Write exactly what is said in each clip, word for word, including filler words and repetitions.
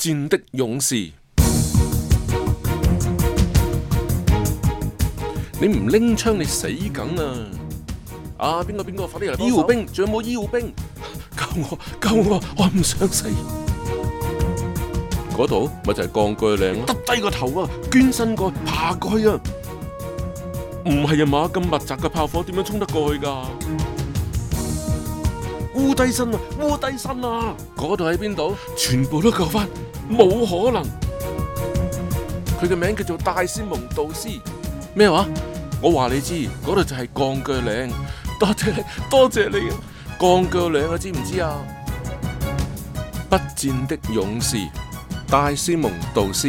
戰的勇士。你唔拎槍，你死梗啊！啊，邊個邊個，快啲嚟幫手！醫護兵，仲有冇醫護兵？救我，救我！我唔想死。嗰度咪就係鋼鋸嶺咯，耷低個頭啊，捐身過去，爬過去啊！唔係啊嘛，咁密集嘅炮火點樣衝得過去噶？烏低身啊，烏低身啊！嗰度喺邊度？全部都救翻，冇可能。佢嘅名叫做戴斯蒙杜斯。咩話？我話你知，嗰度就係鋼鋸嶺。多謝你，多謝你啊！鋼鋸嶺啊，知唔知啊？不戰的勇士，戴斯蒙杜斯。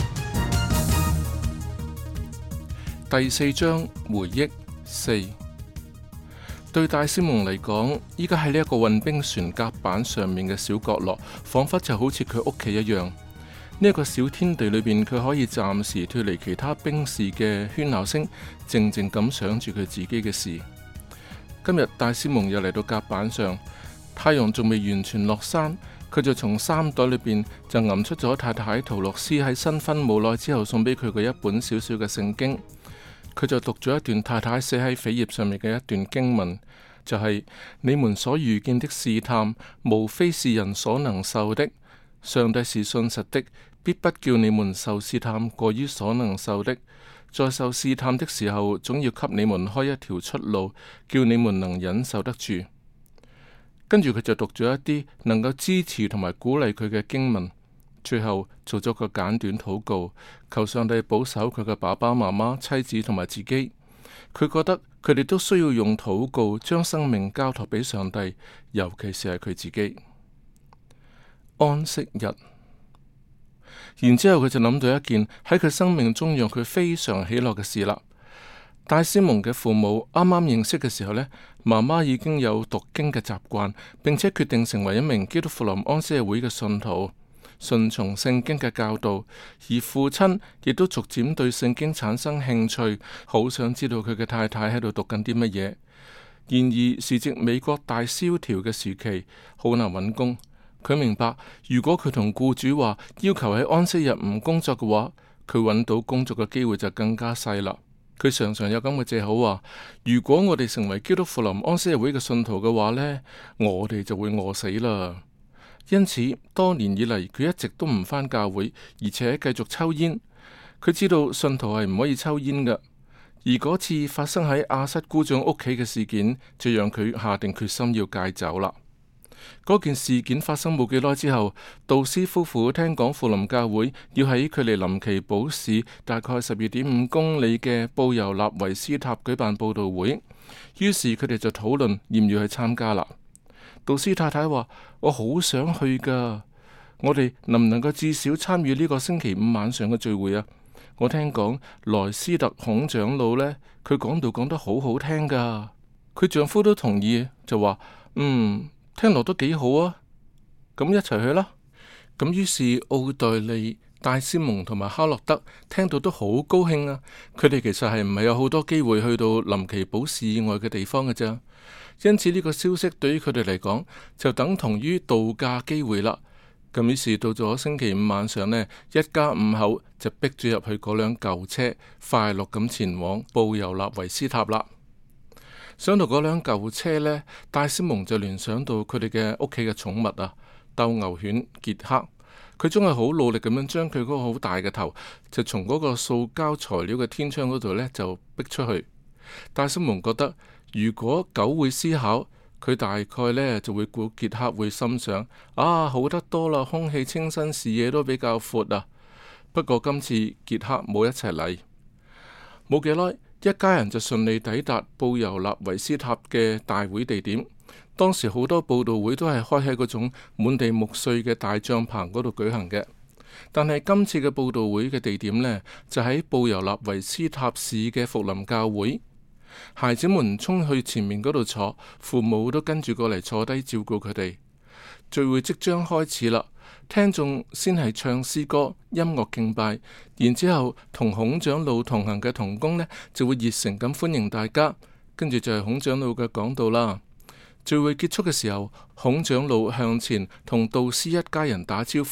第四章回憶四。對戴斯蒙嚟講，依家喺呢一個運兵船甲板上面嘅小角落，仿佛就好似佢屋企一樣。呢、這、一個小天地裏邊，佢可以暫時脫離其他兵士嘅喧鬧聲，靜靜咁想住佢自己嘅事。今日戴斯蒙又嚟到甲板上，太陽仲未完全落山，佢就從衫袋裏邊就揞出咗太太陶洛斯喺新婚冇耐之後送俾佢嘅一本小小嘅聖經。佢就讀咗一段太太寫喺扉頁上面嘅一段經文，就係、是、你們所遇見的試探，無非是人所能受的。上帝是信實的，必不叫你們受試探過於所能受的。在受試探的時候，總要給你們開一條出路，叫你們能忍受得住。跟住佢就讀咗一啲能夠支持同埋鼓勵佢嘅經文。最後做咗個簡短禱告，求上帝保守佢嘅爸爸媽媽、妻子同埋自己。佢覺得佢哋都需要用禱告將生命交託俾上帝，尤其是係佢自己。安息日，然之後佢就諗到一件喺佢生命中讓佢非常喜樂嘅事啦。戴斯蒙嘅父母啱啱認識嘅時候呢，媽媽已經有讀經嘅習慣，並且決定成為一名基督復臨安息日會嘅信徒。順從聖經嘅教導，而父親亦都逐漸對聖經產生興趣，好想知道佢嘅太太喺度讀緊啲乜嘢。然而時值美國大蕭條嘅時期，好難揾工。佢明白，如果佢同僱主話要求喺安息日唔工作嘅話，佢揾到工作嘅機會就更加細啦。佢常常有咁嘅借口話：如果我哋成為基督復臨安息日會嘅信徒嘅話呢，我哋就會餓死啦。因此，多年以嚟佢一直都唔返教會，而且繼續抽煙。佢知道信徒係唔可以抽煙㗎。而嗰次發生喺亞瑟姑丈屋企嘅事件，就讓佢下定決心要戒酒啦。嗰件事件發生冇幾耐之後，杜斯夫婦聽講富林教會要喺距離林奇堡市大概十二點五公里嘅布尤納維斯塔舉辦佈道會，於是佢哋就討論要唔要去參加啦。杜斯太太話：我好想去噶，我哋能唔能夠至少參與呢個星期五晚上嘅聚會啊？我聽講萊斯特孔長老呢，佢講道講得好好聽噶，佢丈夫都同意，就話：嗯，聽落都幾好啊，咁一齊去啦。咁於是奧黛利、戴斯蒙同埋哈洛德聽到都好高興啊！佢哋其實係唔係有好多機會去到林奇堡市以外嘅地方嘅啫。因此呢個消息對於佢哋嚟講就等同於度假機會啦。咁於是到咗星期五晚上呢，一家五口就逼住入去嗰輛舊車，快樂咁前往布尤納維斯塔啦。上到嗰輛舊車呢，戴斯蒙就聯想到佢哋嘅屋企嘅寵物啊，鬥牛犬傑克。佢總係好努力咁樣將佢嗰個好大嘅頭就從嗰個塑膠材料嘅天窗嗰度呢就逼出去。戴斯蒙覺得，如果狗會思考，佢大概呢就會估傑克會心想：啊，好得多啦，空氣清新，視野都比較闊啊。不過今次傑克冇一齊嚟，冇幾耐，一家人就順利抵達布尤納維斯塔嘅大會地點。當時好多佈道會都係開喺嗰種滿地木碎嘅大帳篷嗰度舉行嘅，但係今次嘅佈道會嘅地點呢，就喺布尤納維斯塔市嘅福林教會。孩子們衝去前面嗰度坐，父母都跟住過嚟坐低照顧佢哋。聚會即將開始啦，聽眾先係唱詩歌、音樂敬拜，然之後同孔長老同行嘅同工呢，就會熱誠咁歡迎大家。跟住就係孔長老嘅講道啦。聚會結束嘅時候，孔長老向前同杜斯一家人打招呼，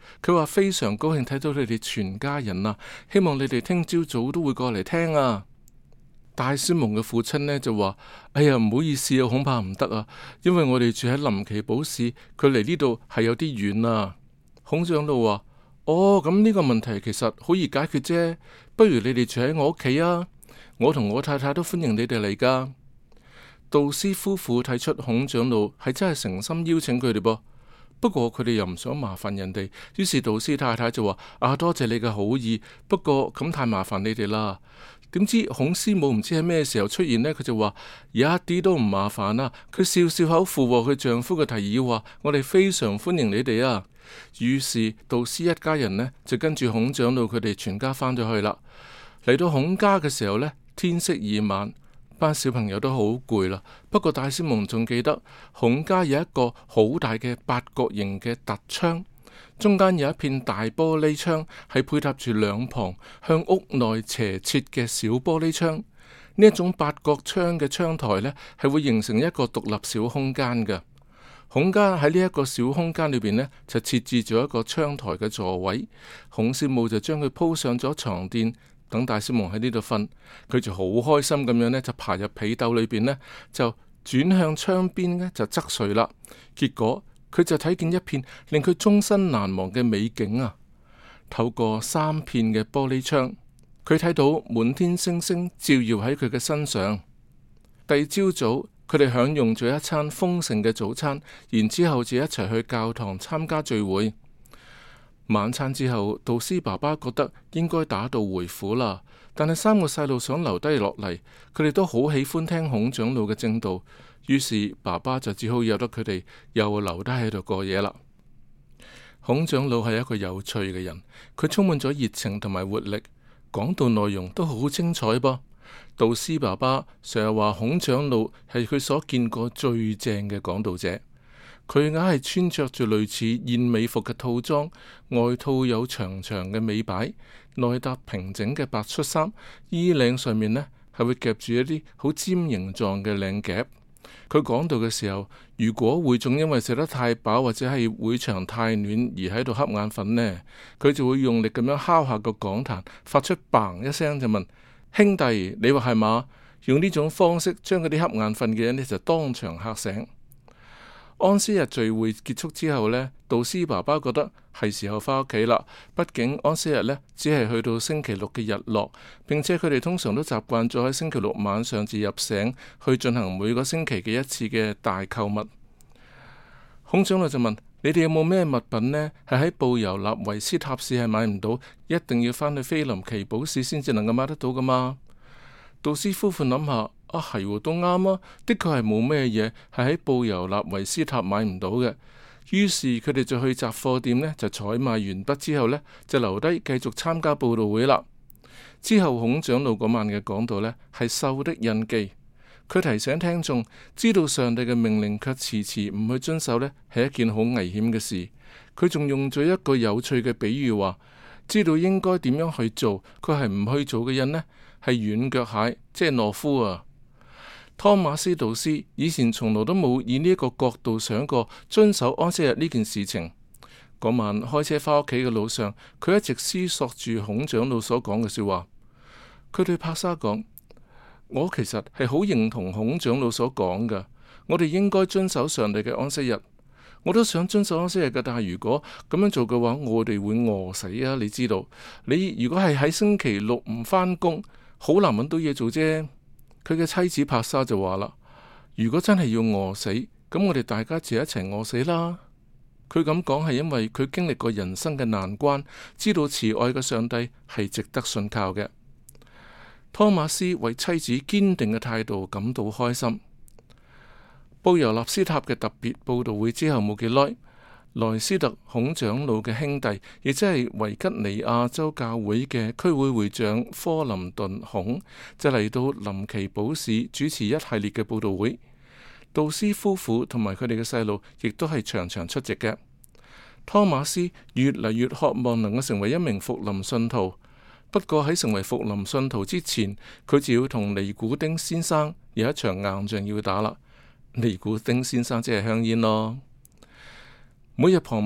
佢話非常高興睇到你哋全家人啊，希望你哋聽朝早都會過嚟聽啊。戴斯蒙嘅父親呢就話：哎呀，唔好意思啊，恐怕唔得啊，因為我哋住喺林奇堡市，佢離呢度係有啲遠啊。孔長老話：哦，咁呢個問題其實好易解決啫，不如你哋住喺我屋企啊，我同我太太都歡迎你哋嚟噶。杜斯夫婦睇出孔長老係真係誠心邀請佢哋噃，不過佢哋又唔想麻煩人哋，於是杜斯太太就話：啊，多謝你嘅好意，不過咁太麻煩你哋啦。點知孔師母唔知喺咩時候出現呢？佢就話一啲都唔麻煩啦。佢笑笑口附和佢丈夫嘅提議，話我哋非常歡迎你哋啊。於是杜斯一家人呢就跟住孔長老佢哋全家翻咗去啦。嚟到孔家嘅時候呢，天色已晚，班小朋友都好攰啦。不過戴斯蒙仲記得孔家有一個好大嘅八角形嘅凸窗。中間有一片大玻璃窗，係配搭住兩旁向屋內斜切嘅小玻璃窗。呢一種八角窗嘅窗台呢，係會形成一個獨立小空間嘅。孔家喺呢一個小空間裏邊呢，就設置咗一個窗台嘅座位。孔師母就將佢鋪上咗床墊，等戴斯蒙喺呢度瞓。佢就好開心咁樣呢，就爬入被竇裏邊呢，就轉向窗邊呢，就側睡啦。結果佢就睇見一片令佢終身難忘嘅美景啊！透過三片嘅玻璃窗，佢睇到滿天星星照耀喺佢嘅身上。第二朝早，佢哋享用咗一餐豐盛嘅早餐，然之後就一齊去教堂參加聚會。晚餐之後，杜斯爸爸覺得應該打道回府啦，但係三個細路想留低落嚟，佢哋都好喜歡聽孔長老嘅正道。於是爸爸就只好由得佢哋又留低喺度過夜啦。孔長老係一個有趣嘅人，佢充滿咗熱情同埋活力，講道內容都好精彩噃。杜斯爸爸成日話孔長老係佢所見過最正嘅講道者，佢硬係穿着住類似燕尾服嘅套裝，外套有長長嘅尾擺，內搭平整嘅白恤衫，衣領上面呢係會夾住一啲好尖形狀嘅領夾。佢講道嘅時候，如果會眾因為食得太飽或者係會場太暖而喺度瞌眼瞓呢，佢就會用力咁樣敲下個講壇，發出嘭一聲就問：兄弟，你話係嘛？用呢種方式將嗰啲瞌眼瞓嘅人呢就當場嚇醒。安息日聚會結束之後呢，杜斯爸爸覺得係時候返屋企啦。畢竟安息日呢只係去到星期六嘅日落，並且佢哋通常都習慣咗喺星期六晚上至入城去進行每個星期嘅一次嘅大購物。孔長老就問：你哋有冇咩物品呢？係喺布尤納維斯塔市係買唔到，一定要返去菲林奇堡市先至能夠買得到噶嘛？杜斯夫婦諗下。啊，係都啱啊！的確係冇咩嘢係喺布尤納維斯塔買唔到嘅。於是佢哋就去雜貨店呢，就採買完畢之後呢，就留低繼續參加佈道會啦。之後孔長老嗰晚嘅講道呢，係獸的印記。佢提醒聽眾，知道上帝嘅命令卻遲遲唔去遵守呢，係一件好危險嘅事。佢仲用咗一個有趣嘅比喻話，知道應該點樣去做，佢係唔去做嘅人呢，係軟腳蟹，即係懦夫啊！湯馬斯杜斯以前從來都冇以呢一個角度想過遵守安息日呢件事情。嗰晚開車返屋企嘅路上，佢一直思索住孔長老所講嘅說話。佢對帕莎講：我其實係好認同孔長老所講嘅，我哋應該遵守上帝嘅安息日。我都想遵守安息日嘅，但係如果咁樣做嘅話，我哋會餓死啊！你知道，你如果係喺星期六唔返工，好難揾到嘢做啫。佢嘅妻子帕莎就話啦：如果真係要餓死，咁我哋大家就一齊餓死啦。佢咁講係因為佢經歷過人生嘅難關，知道慈愛嘅上帝係值得信靠嘅。湯馬斯為妻子堅定嘅態度感到開心。布尤納斯塔嘅特別佈道會之後冇幾耐，萊斯特孔長老嘅兄弟，亦即係維吉尼亞州教會嘅區會會長科林頓孔，就嚟到林奇堡市主持一系列嘅佈道會。杜斯夫婦同埋佢哋嘅細路，亦都係場場出席嘅。湯馬斯越嚟越渴望能夠成為一名復臨信徒，不過喺成為復臨信徒之前，佢就要同尼古丁先生有一場硬仗要打啦。尼古丁先生即係香煙咯。每日傍晚，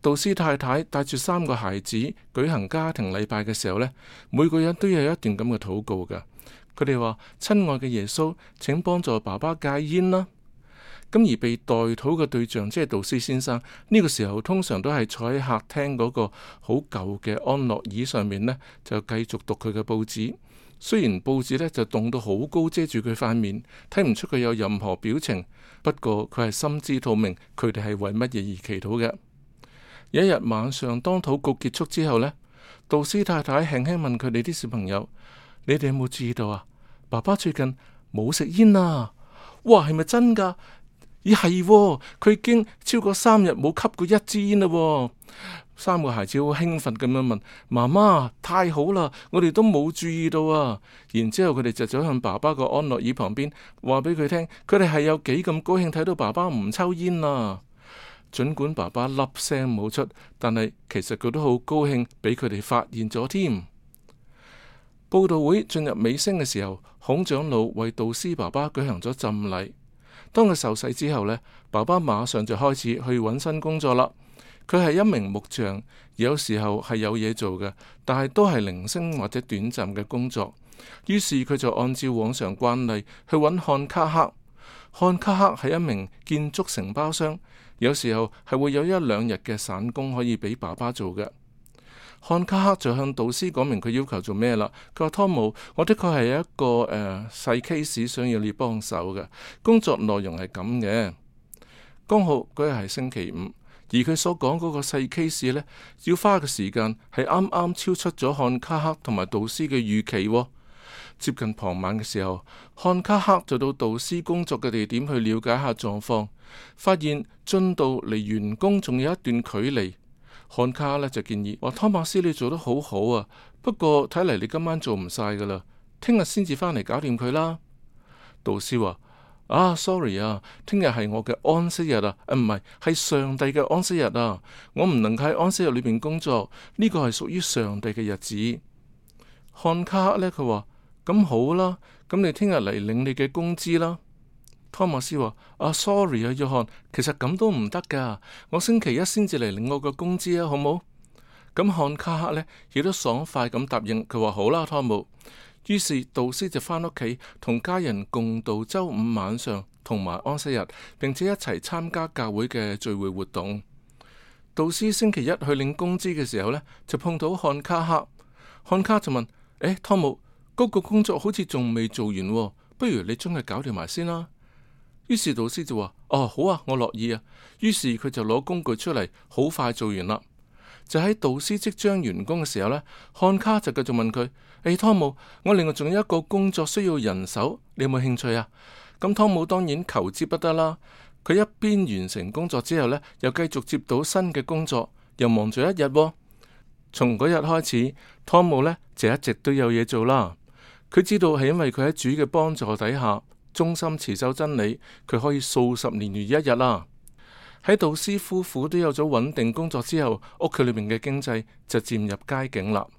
杜斯太太帶住三個孩子舉行家庭禮拜嘅時候呢，每個人都有一段咁嘅禱告噶。佢哋話：親愛嘅耶穌，請幫助爸爸戒煙啦。咁而被代禱嘅對象即係杜斯先生，呢個時候通常都係坐喺客廳嗰個好舊嘅安樂椅上面呢，就繼續讀佢嘅報紙。雖然報紙呢就凍到好高，遮住佢塊面，睇唔出佢有任何表情。不過佢係心知肚明，佢哋係為乜嘢而祈禱嘅。有一日晚上，當禱告結束之後呢，杜斯太太輕輕問佢哋啲小朋友：你哋有冇注意到啊？爸爸最近冇食煙啊！哇，係咪真噶？咦係，佢已經超過三日冇吸過一支煙啦。三個孩子好興奮咁樣問媽媽：太好啦，我哋都冇注意到啊！然之後佢哋就走向爸爸個安樂椅旁邊，話俾佢聽，佢哋係有幾咁高興睇到爸爸唔抽煙啊！盡管爸爸粒聲冇出，但係其實佢都好高興，俾佢哋發現咗添。佈道會進入尾聲嘅時候，孔長老為杜斯爸爸舉行咗浸禮。當佢受洗之後呢，爸爸馬上就開始去揾新工作啦。佢係一名木匠，有時候係有嘢做嘅，但係都係零星或者短暫嘅工作。於是佢就按照往常慣例去揾漢卡克。漢卡克係一名建築承包商，有時候係會有一兩日嘅散工可以俾爸爸做嘅。漢卡克就向杜斯講明佢要求做咩啦。佢話：湯姆，我的確係一個誒細 case 想要你幫手嘅，工作內容係咁嘅。剛好嗰日係星期五，而佢所講嗰個細 case 呢，要花嘅時間係啱啱超出咗漢卡克同埋杜斯嘅預期喎。接近傍晚嘅時候，漢卡克就到杜斯工作嘅地點去了解下狀況，發現進度離完工仲有一段距離。漢卡呢就建議話：湯馬斯，你做得好好啊，不過睇嚟你今晚做唔晒噶啦，聽日先至返嚟搞掂佢啦。杜斯話：啊 ，sorry 啊，聽日係我嘅安息日啊，唔係，係上帝嘅安息日啊，我唔能夠喺安息日裏邊工作，呢個係屬於上帝嘅日子。漢卡呢，佢話：咁好啦，咁你聽日嚟領你嘅工資啦。湯馬斯話：啊，sorry 啊，約翰，其實咁都唔得噶，我星期一先至嚟領我個工資啊，好冇？咁漢卡克呢亦都爽快咁答應，佢話好啦，湯姆。於是杜斯就返屋企同家人共度周五晚上同埋安息日，並且一齊參加教會嘅聚會活動。杜斯星期一去領工資嘅時候呢，就碰到漢卡克，漢卡就問：誒，湯姆，嗰個工作好似仲未做完喎，不如你將佢搞掂埋先啦。於是杜斯就話：哦，好啊，我樂意啊。於是佢就攞工具出嚟，好快做完啦。就喺杜斯即將完工嘅時候呢，漢卡就繼續問佢：誒，湯姆，我另外仲有一個工作需要人手，你有冇興趣啊？咁湯姆當然求之不得啦。佢一邊完成工作之後呢，又繼續接到新嘅工作，又忙咗一日喎。從嗰日開始，湯姆呢就一直都有嘢做啦。佢知道係因為佢喺主嘅幫助底下，忠心持守真理，佢可以數十年如一日啦。喺杜斯夫婦都有咗穩定工作之後，屋企裏面嘅經濟就漸入佳境啦。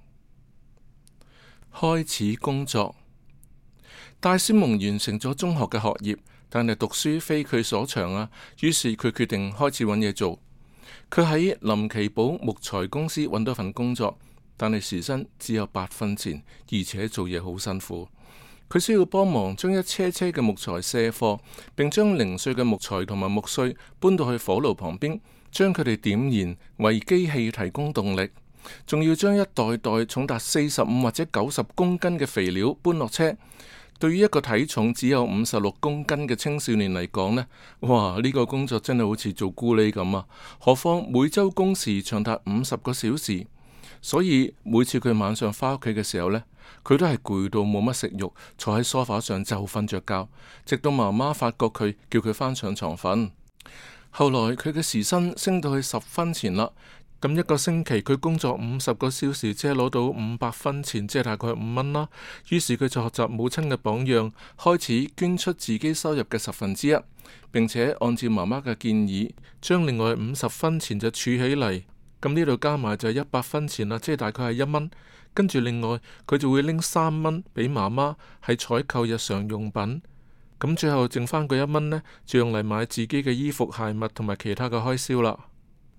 開始工作，戴斯蒙完成咗中學嘅學業，但係讀書非佢所長啊。於是佢決定開始揾嘢做。佢喺林奇堡木材公司揾到份工作，但係時薪只有八分錢，而且做嘢好辛苦。佢需要幫忙將一車車嘅木材卸貨，並將零碎嘅木材同埋木碎搬到去火爐旁邊，將佢哋點燃，為機器提供動力。仲要將一袋袋重達四十五或者九十公斤嘅肥料搬落車。對於一個體重只有五十六公斤嘅青少年嚟講呢，哇！呢個工作真係好似做咕喱咁啊！何況每周工時長達五十個小時，所以每次佢晚上翻屋企嘅時候呢，佢都係攰到冇乜食慾，坐喺梳化上就瞓着覺，直到媽媽發覺佢，叫佢翻上床瞓。後來佢嘅時薪升到去十分錢啦，咁一個星期佢工作五十個小時，即係攞到五百分錢，即係大概五蚊啦。於是佢就學習母親嘅榜樣，開始捐出自己收入嘅十分之一，並且按照媽媽嘅建議，將另外五十分錢就儲起嚟。咁呢度加埋就係一百分錢啦，即係大概係一蚊。跟住另外佢就會拎三蚊俾媽媽，係採購日常用品。咁最後剩翻嗰一蚊呢，就用嚟買自己嘅衣服、鞋襪同埋其他嘅開銷啦。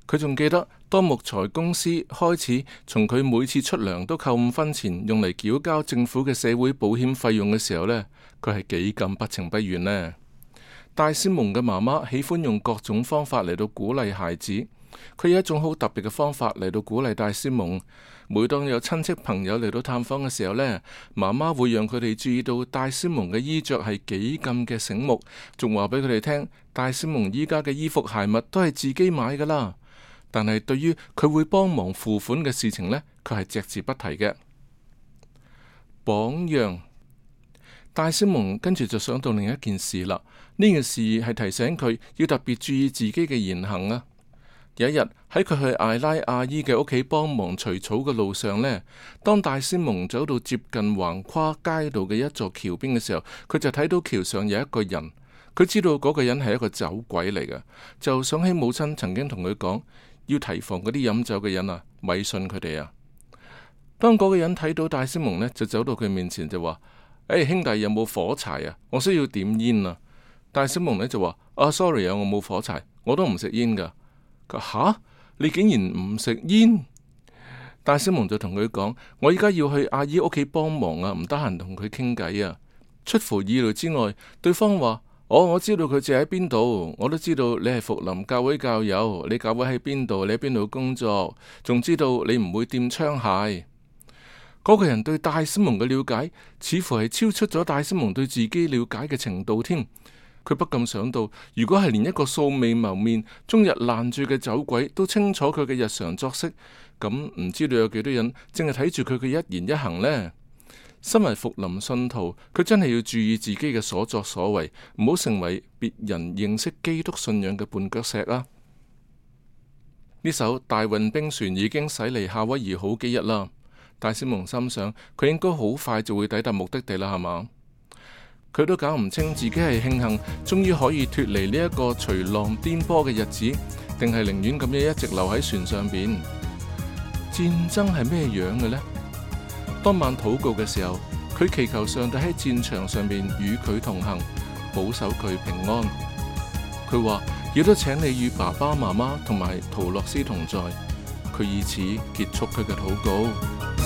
佢仲記得當木材公司開始從佢每次出糧都扣五分錢用嚟繳交政府嘅社會保險費用嘅時候呢，佢係幾咁不情不願呢？戴斯蒙嘅媽媽喜歡用各種方法嚟到鼓勵孩子，佢有一種好特別嘅方法嚟到鼓勵戴斯蒙。每當有親戚朋友嚟到探訪嘅時候呢，媽媽會讓佢哋注意到戴斯蒙嘅衣着係幾咁嘅醒目，仲話俾佢哋聽，戴斯蒙依家嘅衣服鞋襪都係自己買噶啦。但係對於佢會幫忙付款嘅事情呢，佢係隻字不提嘅。榜樣，戴斯蒙跟住就想到另一件事啦。呢件事係提醒佢要特別注意自己嘅言行啊。有一日喺佢去艾拉阿姨嘅屋企幫忙除草嘅路上呢，當戴斯蒙走到接近橫跨街道嘅一座橋邊嘅時候，佢就睇到橋上有一個人。佢知道嗰個人係一個酒鬼嚟嘅，就想起母親曾經同佢講，要提防嗰啲飲酒嘅人啊，咪信佢哋啊。當嗰個人睇到戴斯蒙呢，就走到佢面前就話：誒、hey, 兄弟，有冇火柴啊？我需要點煙啊。戴斯蒙呢就話：啊 sorry 啊，我冇火柴，我都唔食煙噶。佢話：吓，你竟然唔食煙？戴斯蒙就同佢講：我依家要去阿姨屋企幫忙啊，唔得閒同佢傾偈啊。出乎意料之外，對方話：哦，我知道佢住喺邊度，我都知道你係福林教會教友，你教會喺邊度，你喺邊度工作，仲知道你唔會掂槍械。嗰個人對戴斯蒙嘅了解，似乎係超出咗戴斯蒙對自己了解嘅程度添。佢不禁想到，如果係連一個素未謀面、終日爛醉嘅酒鬼都清楚佢嘅日常作息，咁唔知道有幾多人淨係睇住佢嘅一言一行呢？身為福林信徒，佢真係要注意自己嘅所作所為，唔好成為別人認識基督信仰嘅絆腳石啊！呢艘大運兵船已經駛離夏威夷好幾日啦。戴斯蒙心想，佢應該好快就會抵達目的地啦，係嘛？佢都搞唔清自己係慶幸終於可以脫離呢一個隨浪顛簸嘅日子，定係寧願咁樣一直留喺船上邊。戰爭係咩樣嘅呢？當晚禱告嘅時候，佢祈求上帝喺戰場上面與佢同行，保守佢平安。佢話亦都請你與爸爸媽媽同埋陶洛斯同在。佢以此結束佢嘅禱告。